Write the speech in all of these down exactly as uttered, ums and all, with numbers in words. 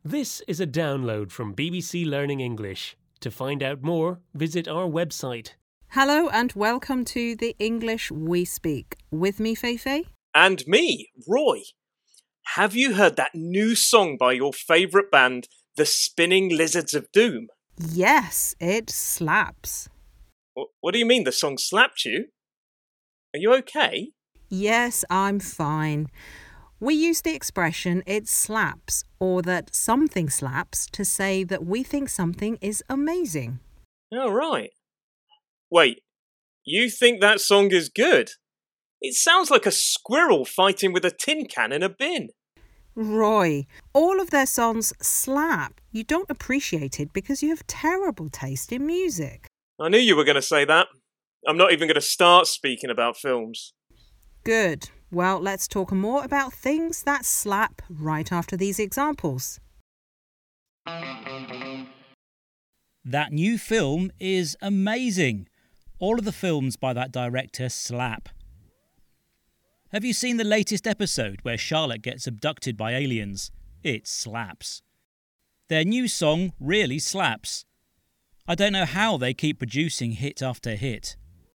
This is a download from B B C Learning English. To find out more, visit our website. Hello and welcome to the English We Speak. With me, Feifei. And me, Roy. Have you heard that new song by your favourite band, The Spinning Lizards of Doom? Yes, it slaps. What do you mean the song slapped you? Are you okay? Yes, I'm fine. We use the expression it slaps or that something slaps to say that we think something is amazing. Oh, right. Wait, you think that song is good? It sounds like a squirrel fighting with a tin can in a bin. Roy, all of their songs slap. You don't appreciate it because you have terrible taste in music. I knew you were going to say that. I'm not even going to start speaking about films. Good. Well, let's talk more about things that slap right after these examples. That new film is amazing. All of the films by that director slap. Have you seen the latest episode where Charlotte gets abducted by aliens? It slaps. Their new song really slaps. I don't know how they keep producing hit after hit.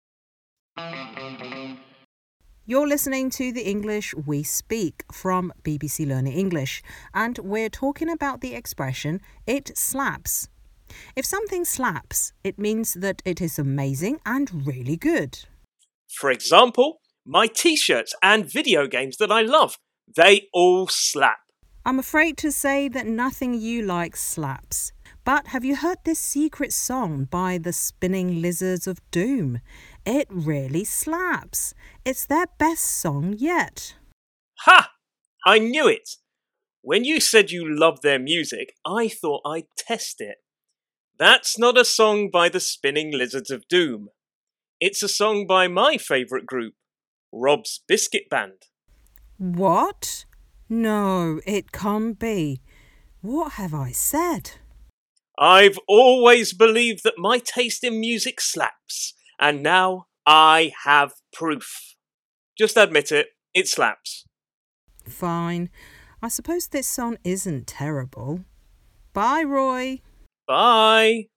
You're listening to the English We Speak from B B C Learning English, and we're talking about the expression, it slaps. If something slaps, it means that it is amazing and really good. For example, my t-shirts and video games that I love, they all slap. I'm afraid to say that nothing you like slaps. But have you heard this secret song by the Spinning Lizards of Doom? It really slaps. It's their best song yet. Ha! I knew it! When you said you loved their music, I thought I'd test it. That's not a song by the Spinning Lizards of Doom. It's a song by my favourite group, Rob's Biscuit Band. What? No, it can't be. What have I said? I've always believed that my taste in music slaps, and now I have proof. Just admit it, it slaps. Fine. I suppose this song isn't terrible. Bye, Roy. Bye.